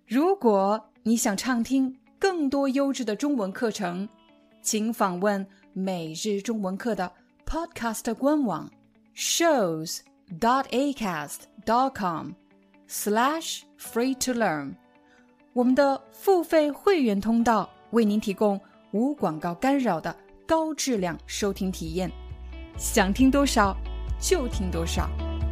如果你想畅听更多优质的中文课程，请访问每日中文课的 Podcast 官网 shows.acast.com/free-to-learn。我们的付费会员通道为您提供无广告干扰的高质量收听体验，想听多少就听多少。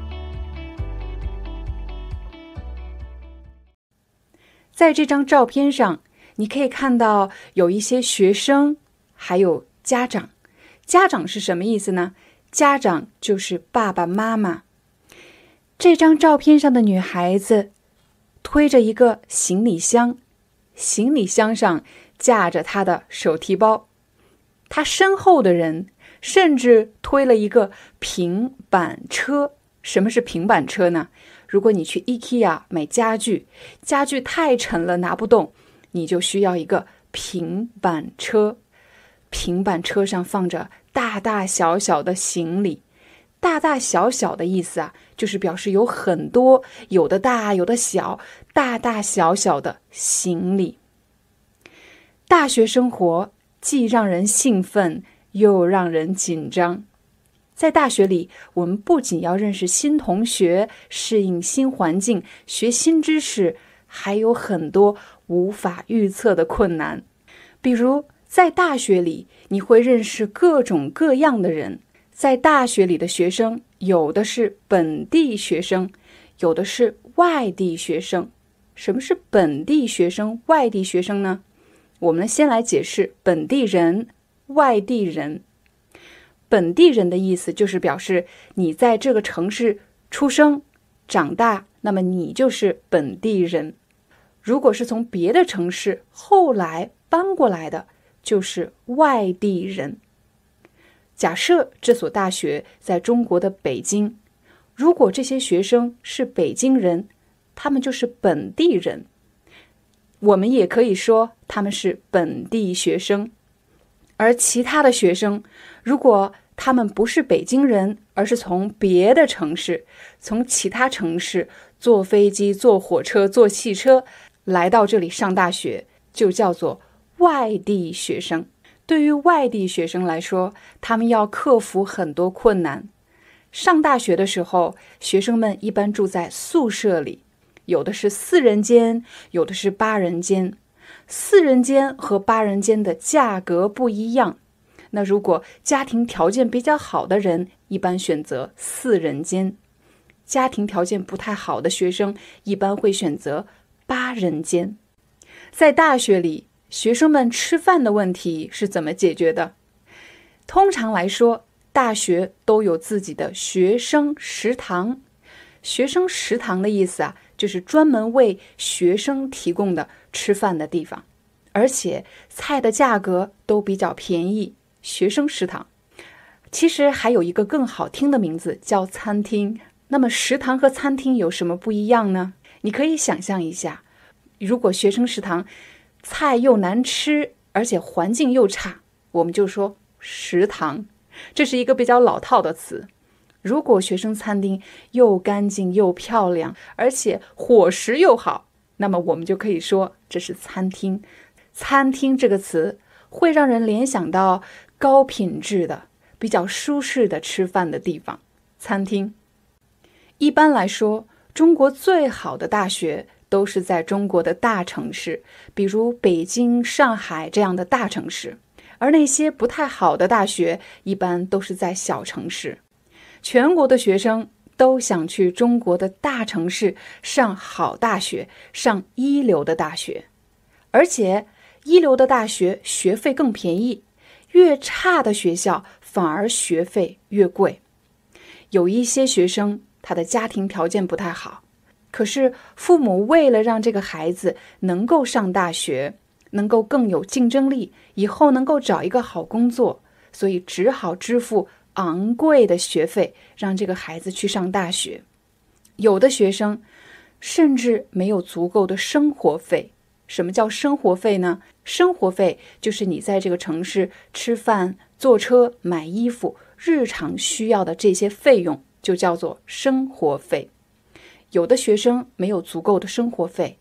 在这张照片上，你可以看到有一些学生，还有家长。家长是什么意思呢？家长就是爸爸妈妈。这张照片上的女孩子推着一个行李箱，行李箱上架着她的手提包。她身后的人甚至推了一个平板车。什么是平板车呢？如果你去 IKEA 买家具，家具太沉了拿不动，你就需要一个平板车。平板车上放着大大小小的行李。大大小小的意思啊，就是表示有很多，有的大有的小，大大小小的行李。大学生活既让人兴奋又让人紧张。在大学里，我们不仅要认识新同学，适应新环境，学新知识，还有很多无法预测的困难。比如在大学里，你会认识各种各样的人。在大学里的学生，有的是本地学生，有的是外地学生。什么是本地学生、外地学生呢？我们先来解释本地人、外地人。本地人的意思就是表示你在这个城市出生长大，那么你就是本地人。如果是从别的城市后来搬过来的，就是外地人。假设这所大学在中国的北京，如果这些学生是北京人，他们就是本地人。我们也可以说他们是本地学生。而其他的学生，如果他们不是北京人，而是从别的城市，从其他城市坐飞机、坐火车、坐汽车来到这里上大学，就叫做外地学生。对于外地学生来说，他们要克服很多困难。上大学的时候，学生们一般住在宿舍里，有的是4人间，有的是8人间。4人间和8人间的价格不一样。那如果家庭条件比较好的人，一般选择4人间。家庭条件不太好的学生，一般会选择8人间。在大学里，学生们吃饭的问题是怎么解决的？通常来说，大学都有自己的学生食堂。学生食堂的意思啊，就是专门为学生提供的吃饭的地方，而且菜的价格都比较便宜。学生食堂其实还有一个更好听的名字，叫餐厅。那么食堂和餐厅有什么不一样呢？你可以想象一下，如果学生食堂菜又难吃，而且环境又差，我们就说食堂，这是一个比较老套的词。如果学生餐厅又干净又漂亮，而且伙食又好，那么我们就可以说这是餐厅。餐厅这个词会让人联想到高品质的、比较舒适的吃饭的地方，餐厅。一般来说，中国最好的大学都是在中国的大城市，比如北京、上海这样的大城市。而那些不太好的大学，一般都是在小城市。全国的学生都想去中国的大城市上好大学，上一流的大学。而且一流的大学学费更便宜，越差的学校反而学费越贵。有一些学生他的家庭条件不太好，可是父母为了让这个孩子能够上大学，能够更有竞争力，以后能够找一个好工作，所以只好支付昂贵的学费，让这个孩子去上大学。有的学生甚至没有足够的生活费。什么叫生活费呢？生活费就是你在这个城市吃饭、坐车、买衣服，日常需要的这些费用，就叫做生活费。有的学生没有足够的生活费，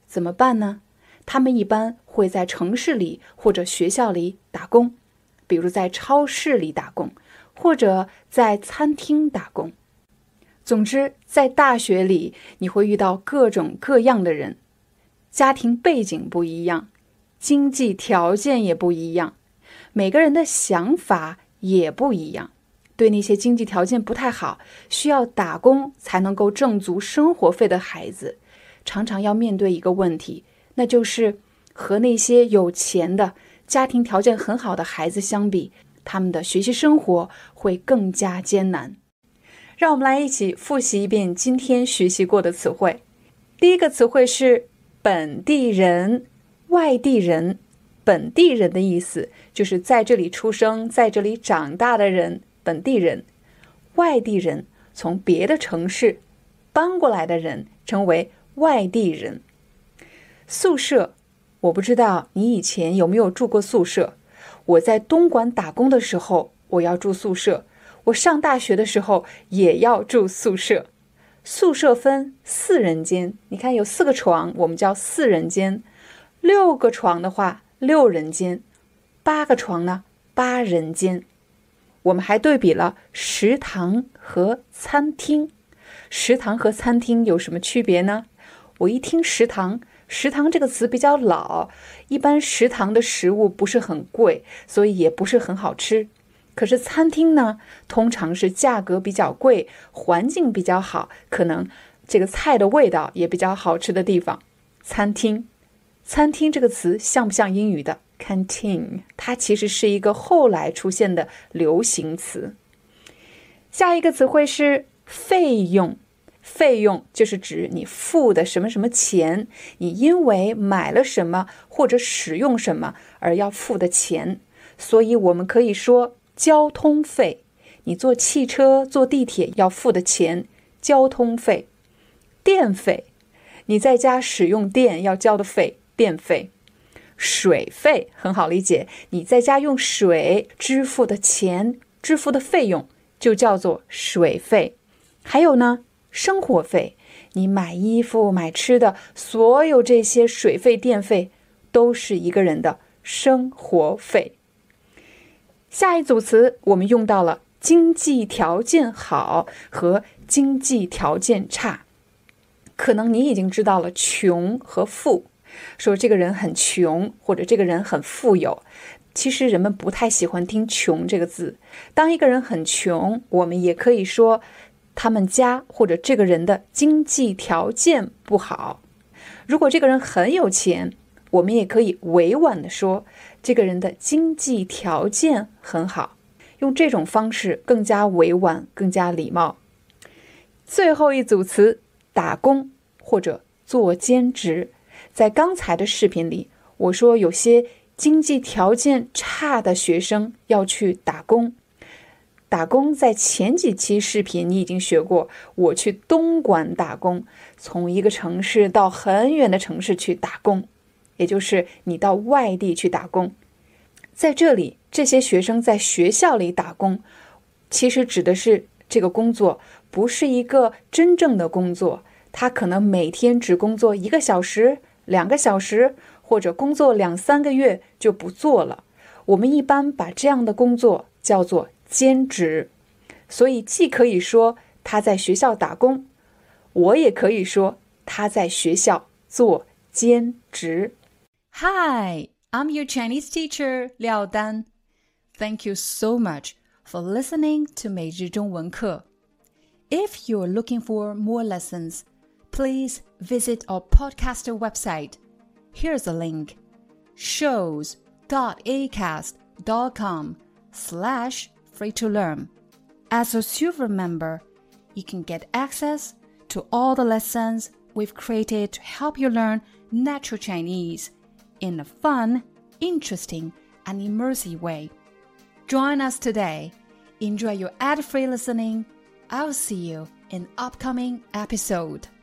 怎么办呢？他们一般会在城市里或者学校里打工，比如在超市里打工，或者在餐厅打工。总之，在大学里，你会遇到各种各样的人，家庭背景不一样，经济条件也不一样，每个人的想法也不一样。对那些经济条件不太好，需要打工才能够挣足生活费的孩子，常常要面对一个问题，那就是和那些有钱的、家庭条件很好的孩子相比，他们的学习生活会更加艰难。让我们来一起复习一遍今天学习过的词汇。第一个词汇是本地人、外地人。本地人的意思就是在这里出生、在这里长大的人，本地人。外地人，从别的城市搬过来的人称为外地人。宿舍，我不知道你以前有没有住过宿舍。我在东莞打工的时候，我要住宿舍。我上大学的时候也要住宿舍。宿舍分4人间，你看有4个床，我们叫4人间。6个床的话，6人间。8个床呢，8人间。我们还对比了食堂和餐厅。食堂和餐厅有什么区别呢？我一听食堂这个词比较老，一般食堂的食物不是很贵，所以也不是很好吃。可是餐厅呢，通常是价格比较贵，环境比较好，可能这个菜的味道也比较好吃的地方。餐厅这个词像不像英语的 canteen？ 它其实是一个后来出现的流行词。下一个词汇是费用。费用就是指你付的什么什么钱，你因为买了什么或者使用什么而要付的钱。所以我们可以说交通费，你坐汽车、坐地铁要付的钱，交通费。电费，你在家使用电要交的费，电费。水费很好理解，你在家用水支付的钱、支付的费用就叫做水费。还有呢，生活费，你买衣服、买吃的，所有这些水费、电费都是一个人的生活费。下一组词我们用到了经济条件好和经济条件差。可能你已经知道了穷和富，说这个人很穷或者这个人很富有。其实人们不太喜欢听穷这个字。当一个人很穷，我们也可以说他们家或者这个人的经济条件不好。如果这个人很有钱，我们也可以委婉地说这个人的经济条件很好，用这种方式更加委婉，更加礼貌。最后一组词，打工或者做兼职。在刚才的视频里，我说有些经济条件差的学生要去打工。打工在前几期视频你已经学过，我去东莞打工，从一个城市到很远的城市去打工，也就是你到外地去打工。在这里，这些学生在学校里打工，其实指的是这个工作不是一个真正的工作，他可能每天只工作1个小时、2个小时，或者工作2、3个月就不做了。我们一般把这样的工作叫做兼职。所以既可以说他在学校打工，我也可以说他在学校做兼职。 Hi, I'm your Chinese teacher, Liao Dan. Thank you so much for listening to 每日中文课。 If you're looking for more lessons, please visit our podcaster website. Here's a link: shows.acast.com/free-to-learn. As a silver member, you can get access to all the lessons we've created to help you learn natural Chinese in a fun, interesting, and immersive way. Join us today. Enjoy your ad-free listening. I'll see you in upcoming episode.